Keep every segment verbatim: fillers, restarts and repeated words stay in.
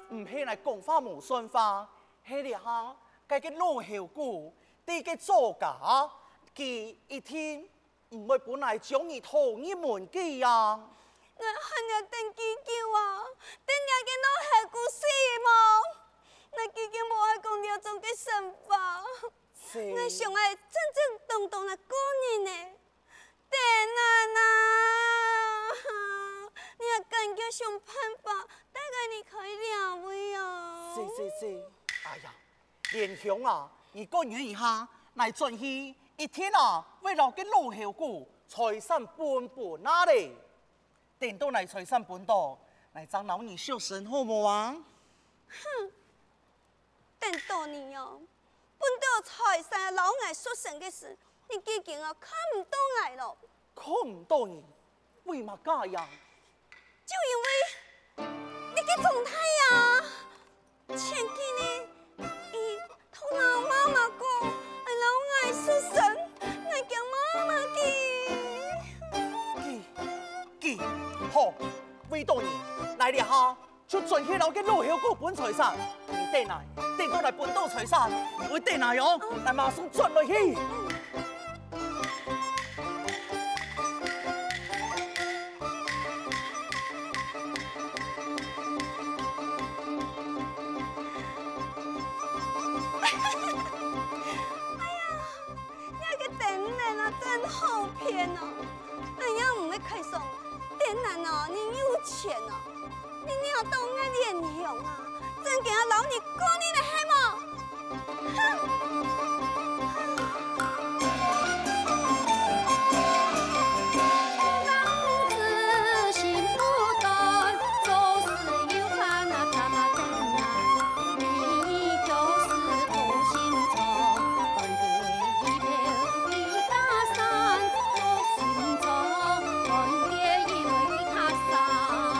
唔係來講話無算話，係咧哈，該個老後姑，第個作家，佢一天唔會本來將你討一門計呀。 我看日等幾久啊？等日個老後姑死麼？我已經無愛講了種個想法，我想愛正正當當來過日呢。等下吶，你也趕緊想辦法，帶個你可以了位哦。 是是是，哎呀，蓮香啊，你講完一下，來轉去一天啊，為了個老後姑財產分半哪裡？等到來財產分到，來張老你小生好無啊？ 哼！等到你哦，分到財產老愛所生的事，你已經啊看唔到愛咯。 看唔到你，為嘛這樣？ 就因為你個狀態呀，前幾年伊同老媽媽講，愛老愛所生，愛叫媽媽記。 記記好，為到你來了哈，就轉去老個老後姑分財產，你等來。等到來分到財產，你會等來喲，來馬上轉落去。 哎呀，你個等人啊，真好騙哦！哎呀，唔會開爽，等人啊，你有錢啊，你要到我蓮香啊。真給我老你過你的黑嗎？ 老子心不斷，做事有看那他媽等來，你就是無心腸，斷跌一瓢一大山，無心腸，斷跌一瓢一大山。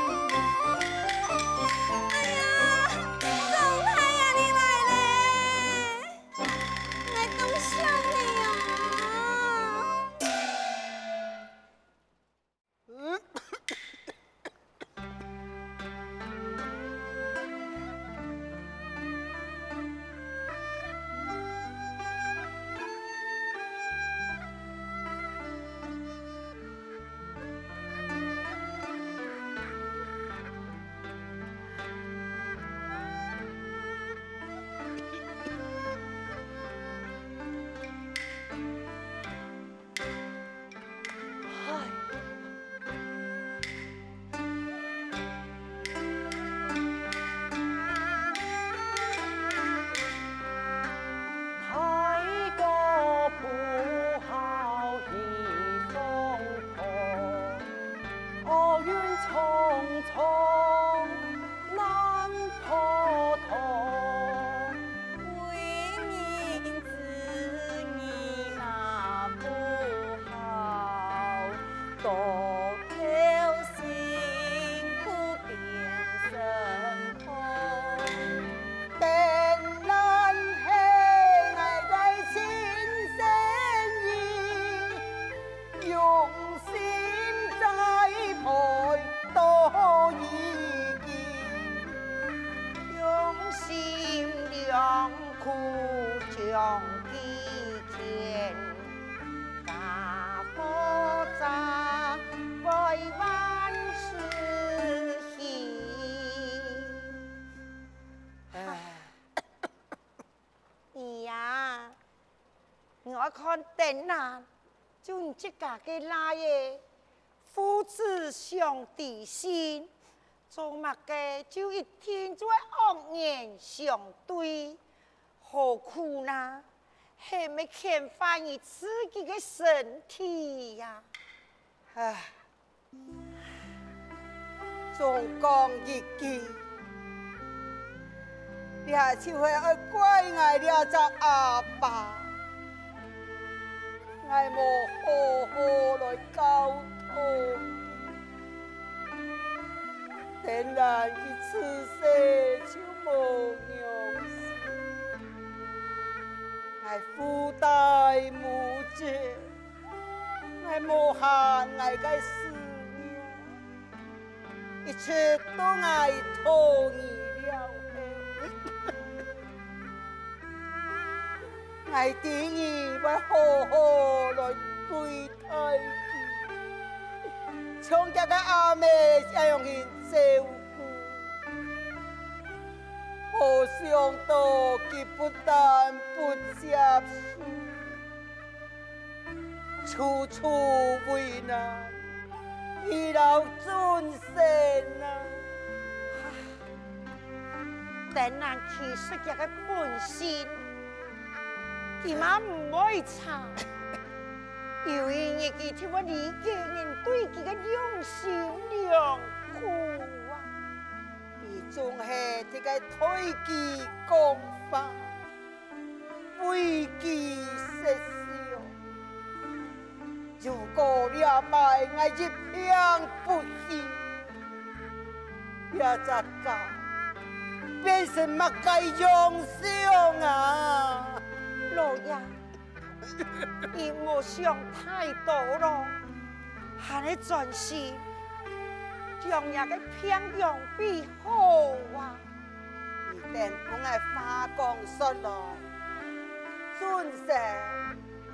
我看電腦，就你這家嘅拉耶，父子相弟心，做乜嘅就一天在惡言相對，何苦呢？係咪欠翻你自己嘅身體呀？唉，總講一句，你還是會愛怪我了隻阿爸。我無好好來溝通，等然佢出世就無用心，我父代母姐，我無限我嘅思念，一切都我同意。 我定義要好好來對待佢，從家個阿妹要用佢照顧，沒想到佢不但不接受，處處為難，遇到尊神啊！但難其實佢個本性。佢媽唔會差，因為日記聽我理解人對佢嘅用心良苦啊，佢總係這個推己講法，為己設想。如果了敗我一片不喜，也則講變成乜個用想啊？老爺，你莫想太多了，還你專心，將日個偏用必好啊！你等我來花光說了，尊神，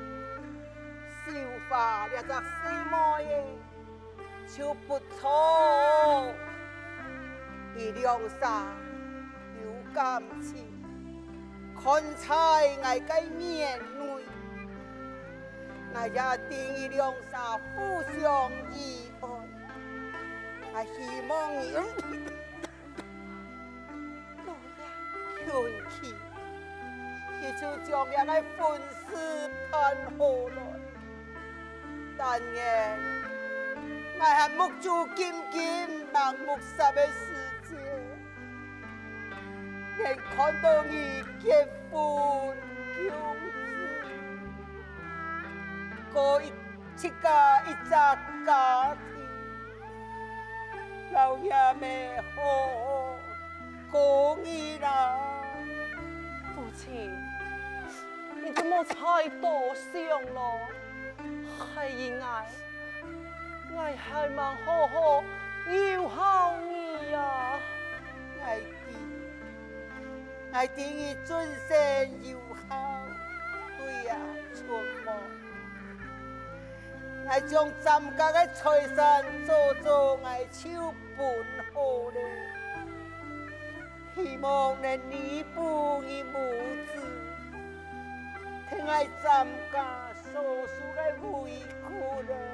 繡花了隻細毛耶，就不錯，你兩啥有感情。看在我個面內，我也定義兩啥互相依愛，我希望你老爺勸氣，你就將人個婚事辦好了。但願我係目睭金金盲目殺的世界。能看到你結婚恭子，過一一家一家家庭，老爺們好好過日啦。 父親，你怎麼太多想了？係因愛，愛係蠻好好要好你呀， 愛弟。我定義尊神友好，對呀、啊，春夢。我將咱家的財產做做我手本好了，希望能彌補你母子，聽我咱家所受的委屈了。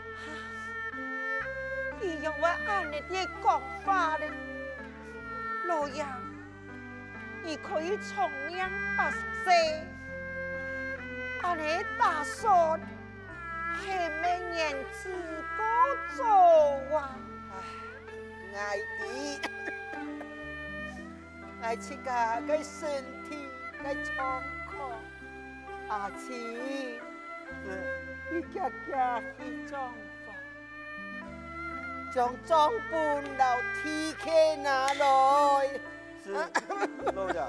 你用我按你的講法了，老爺。你可以從良百歲，按你打算，係明年自個做啊！唉，愛弟，愛自家個身體個狀況，阿七，你家家去裝房，將裝本老鐵客拿來。 是，老爺。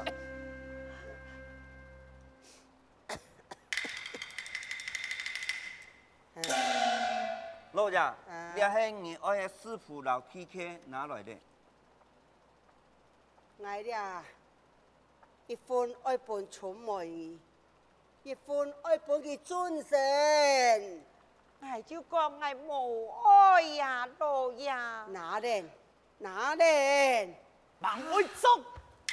老爺，你係你愛的師傅老 K K 拿來的？ 我呀，一份愛本出門，一份愛本嘅尊神。我就講我無愛呀，老爺。哪人？哪人？ 盲會走！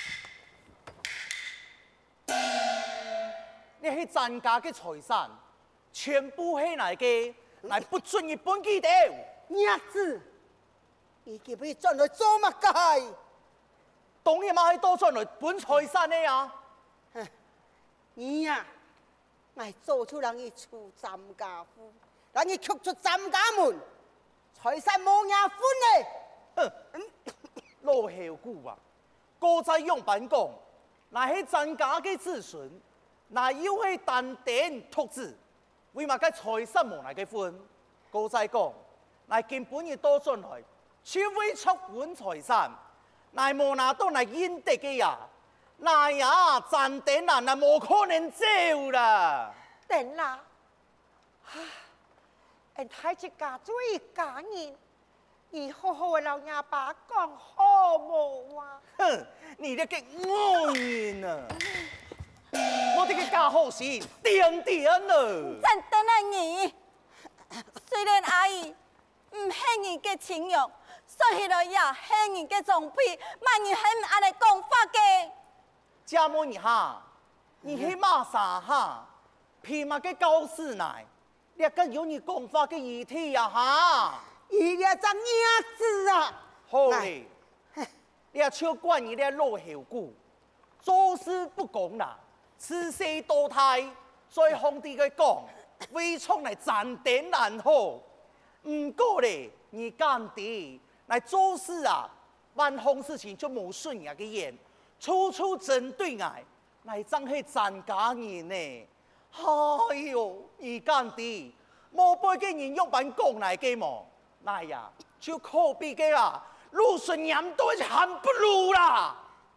你係咱家嘅財產，全部係哪個？來不准日本記掉！ 伢子，你叫佢轉來做乜嘅？ 當然嘛係多轉來本財產的呀！ 你呀，我做出人哋出咱家夫，人哋卻出咱家門，財產冇人分嘞！ 哼！老後姑啊，哥在用板講，那係咱家嘅子孫，那又係單點獨子，為嘛嘅財產冇那個分？哥在講，那根本要多進來，只為出換財產，那冇拿到那應得嘅呀，那呀賺點啦，那冇可能走啦。 等啦，唉，人睇只家最家人。以後好嘅老爺爸講好冇啊！ 哼，你這個惡人啊！ 我這個假好心，點點了。 咱等下你，雖然阿姨唔恨你嘅情用，說起來也恨你嘅裝備，萬你恨安尼講法嘅。 家母你哈，你去罵啥哈？偏嘛個高士奶，你個有你講法嘅議題呀哈？ 伊咧只娘子啊！ 好嘞，你要超管你咧老後股，做事不公啦，此事多態，在皇帝嘅講，為從來斬點難好。唔過咧，你干啲來做事啊，萬項事情就冇順眼嘅嘢，處處針對我，來真係zan假人呢。哎呦，你干啲冇背嘅人用版講來嘅麼？那呀，就可比嘅啦，魯迅年都還不如啦。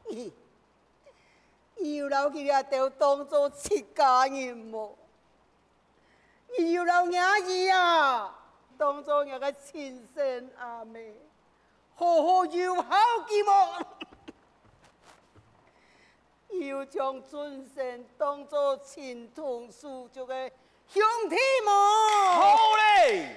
有老佢哋都當作自家人麼？有老伢兒啊，當作一個親生阿妹，好好友好嘅麼？要將尊神當作親同屬族嘅兄弟麼？ 好嘞。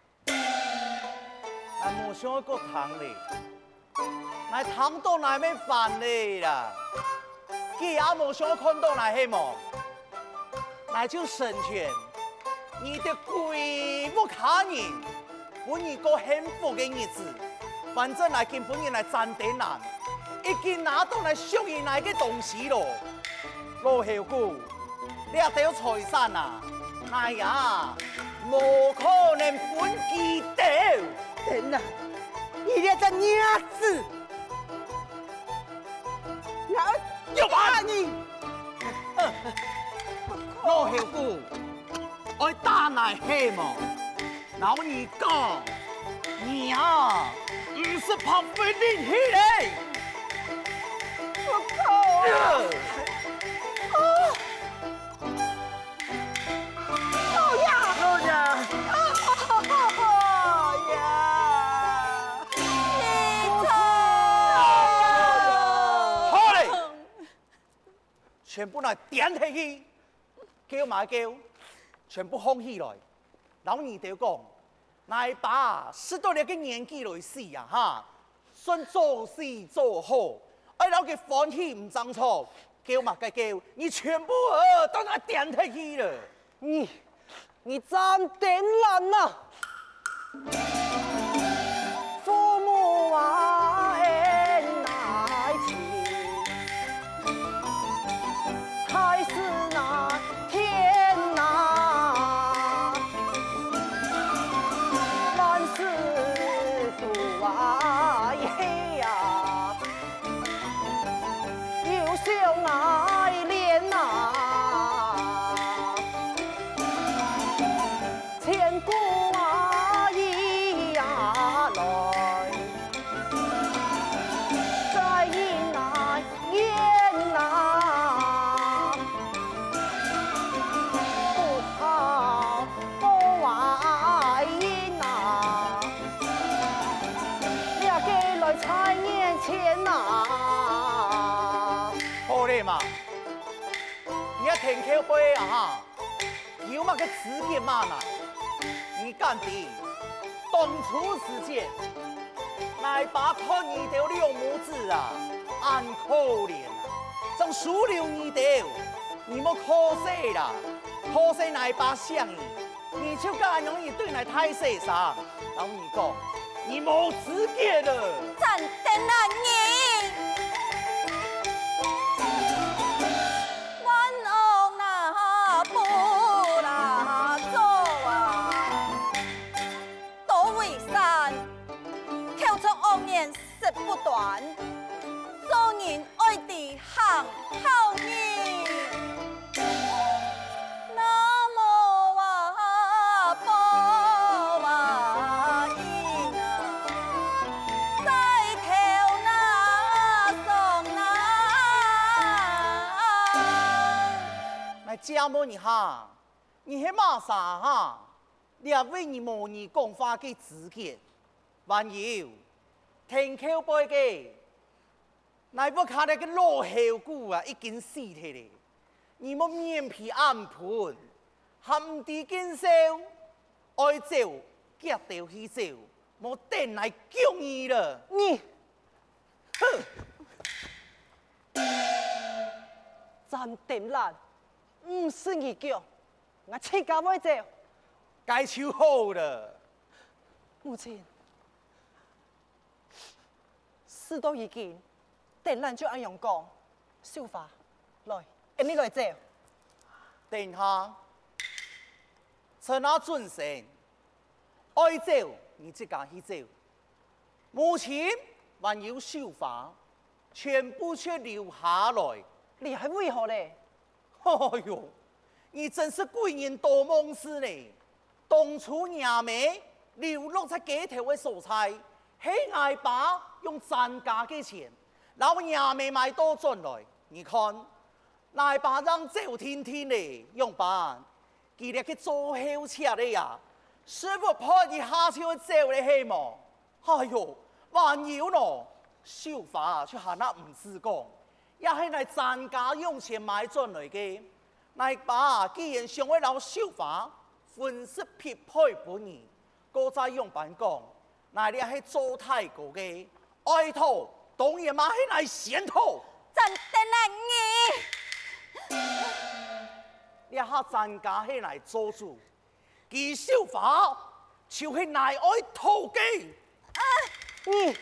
俺冇想過糖嘞，俺糖到哪沒飯嘞啦？既然冇想看到哪些麼，那就成全你的鬼不卡人，本一個幸福的日子。反正來見本人來賺點難，已經拿到來屬於哪個東西咯。老後姑，你也得有財產啊？哎呀，冇可能本記得。 等啊！你這個娘子，我要打你！ 老後姑，我打來黑麼？老你講，你啊，唔是怕被拎起來。 我靠！老呀，老呀！ 全部來點起去，叫嘛叫，全部放起來。老二就講，來把十多年嘅年紀來死啊哈，算做事做好，哎老嘅歡喜唔爭錯，叫嘛嘅叫，你全部呃都來點起去了。 你你真點爛啊！父母啊，恩愛情。還是那天哪，萬事都啊黑呀，有相愛戀吶，千古啊一呀來，再迎來緣吶。在眼前吶， 好嘞嘛，你要聽口碑啊哈，有嘛個詞典嘛呢？你幹的當初時間，來把看你的兩母子啊，安可憐啊，正數留你的，你莫可惜啦，可惜來把相你，你就咁容易對來太世上，然後你講。你冇資格了， 咱等下你，阮王那不那做啊，多為善，口出惡言舌不斷，做人愛地行好義。 家母你哈，你係嘛啥哈？你也為你模擬講話嘅資格，還有聽口碑嘅，乃不看那個老後姑啊，已經死去了。 你莫面皮暗盤，含地見笑，愛走夾掉去走，莫等來救你了。 你， 哼！ 詹定蘭，唔是你叫，我自家會走。 該就好了。 母親，事都已經，定蘭就按樣講，秀華，來，俺們來走。 等下，趁那準神，愛走你自家去走。目前還有秀華，全部卻留下來。 你還為何嘞？ 哎呦，你真是貴人多夢事呢！當初娘妹流落在街頭的蔬菜，係挨爸用賺家嘅錢，老娘妹買多進來。你看，挨爸讓走天天呢，用辦，佢哋去做後車的呀，師傅怕一下就走的希望。哎呦，還有喏，繡花卻係那唔知講。也係嚟賺家用錢買進來嘅，嚟把既然想為老繡花分析匹配本兒，個再用板講，嚟你係做太過嘅，愛徒當然嘛係嚟先徒， 真得嚟你下賺家係嚟做主，而繡花就係嚟愛徒嘅。 你。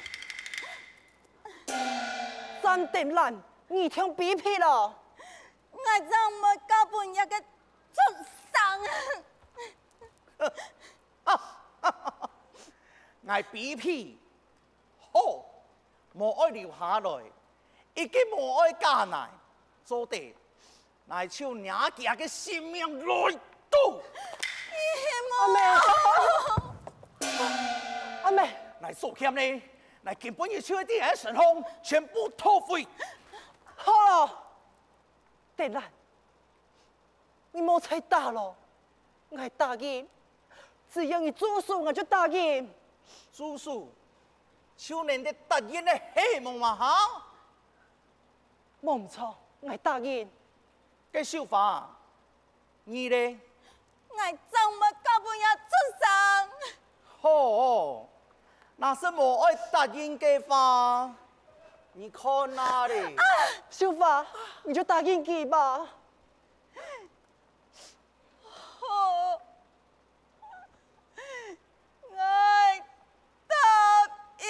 詹定蘭，你聽比屁了！ 我怎麼交半日嘅畜生啊！ 我比屁，好，無愛留下來，已經無愛加來，做得來朝娘家嘅性命來到。 阿妹，阿妹， 來數欠呢？來根本要出一啲喺神空，全部拖回。 好了，定蘭，你莫再打了，我答應，只要你做事，我就答應。 做事，少年的答應的希望嘛哈？ 冇唔錯，我答應。 嘅繡花，你呢？ 我怎麼交半日畜生？ 好、哦。那是無愛答應嘅話，你看哪裡？ 繡花，你就答應佢吧。 好，我答應。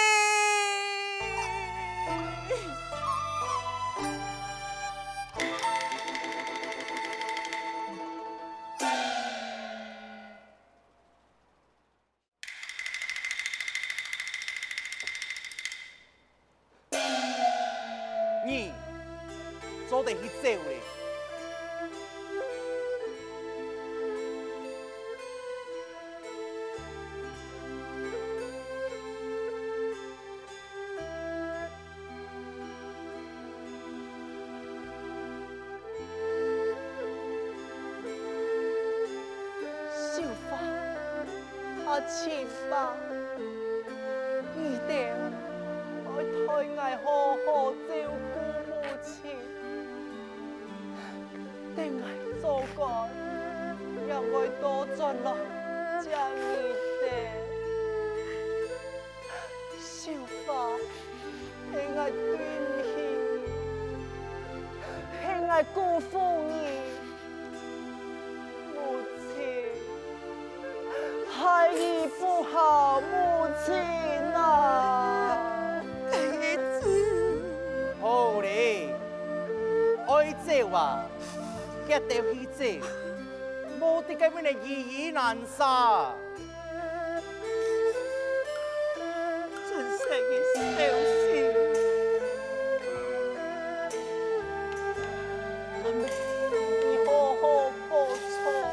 你做得去走咧？ 繡花，阿千吧，一定我替我好好照顧母親，定係做過，讓我多盡來將你哋。繡花，係我對唔起，係我辜負你。孩兒不好，母親啊！ 兒子， 好咧，愛走啊，一定去走，冇得咁樣嘅意義難殺。 真是嘅小事。 阿妹，你好好報錯。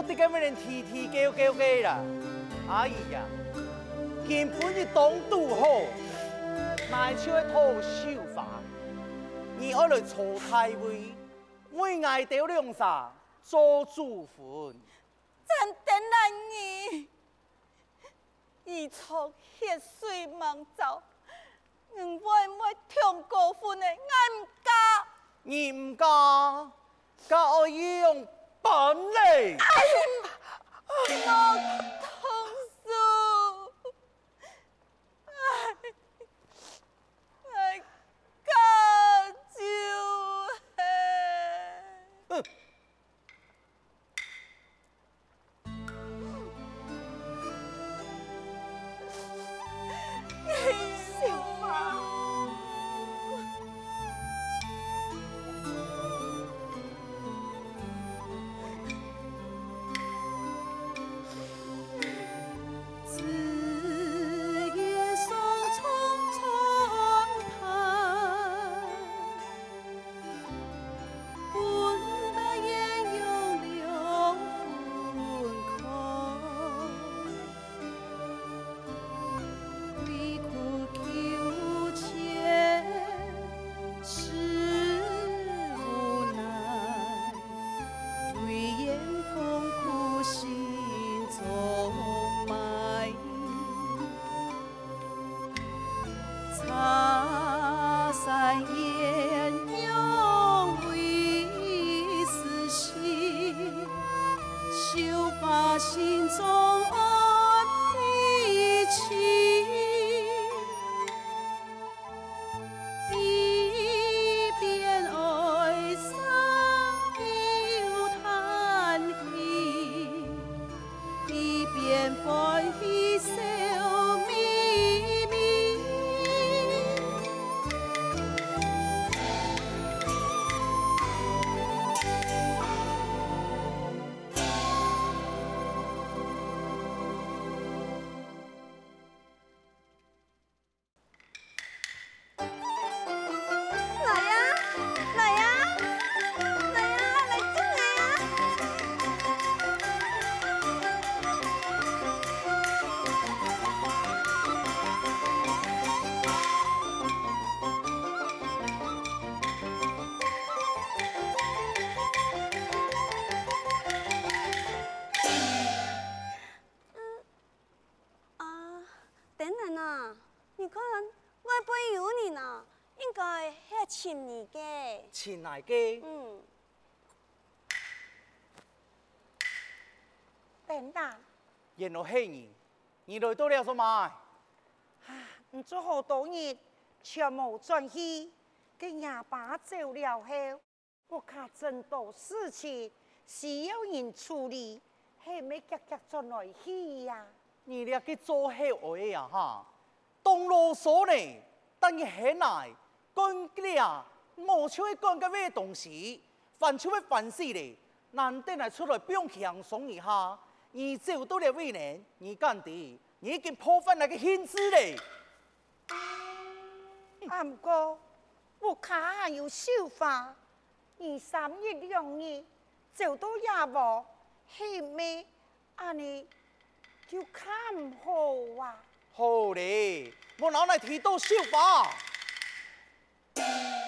得咁樣提提叫叫嘅啦。阿姨呀，根本就當都好，乃出一套手法，而我來坐太位，為愛到兩啥做主婚。 真等難你，一出血水茫走，我會唔會痛過分的？我唔嫁。 你唔嫁，嫁我要用本領。 我痛死，哎，哎，嫁就係。 小花， 子夜送匆匆盼，本得雁用留魂空。离苦求前是无奈，对眼痛苦心中埋。茶山烟涌为思心，绣把心中安的情。一邊哀傷又嘆氣，一邊歡喜笑眯眯。 來呀，來呀，來呀，來進來呀！啊，等等啊，你看我背有你呢。應該係前年嘅， 前來嘅， 嗯， 等等， 原來係你，你來到了做乜？ 唔做好多日，全無轉去，佢廿把走了後，我卡真多事情需要人處理，係咪急急轉來去呀？ 你哋嘅做好愛呀哈，當囉嗦呢，等於係嚟。講嘅啊，冇出去講嘅咩東西，凡出去凡事咧，難得係出來表強鬆一下，而走到了未呢，你幹啲，你已經破壞那個限制咧。 阿唔過，我卡還有手法，二三一兩日走到也無，係咪安尼就看唔好啊？ 好咧，我哪嚟提到手法？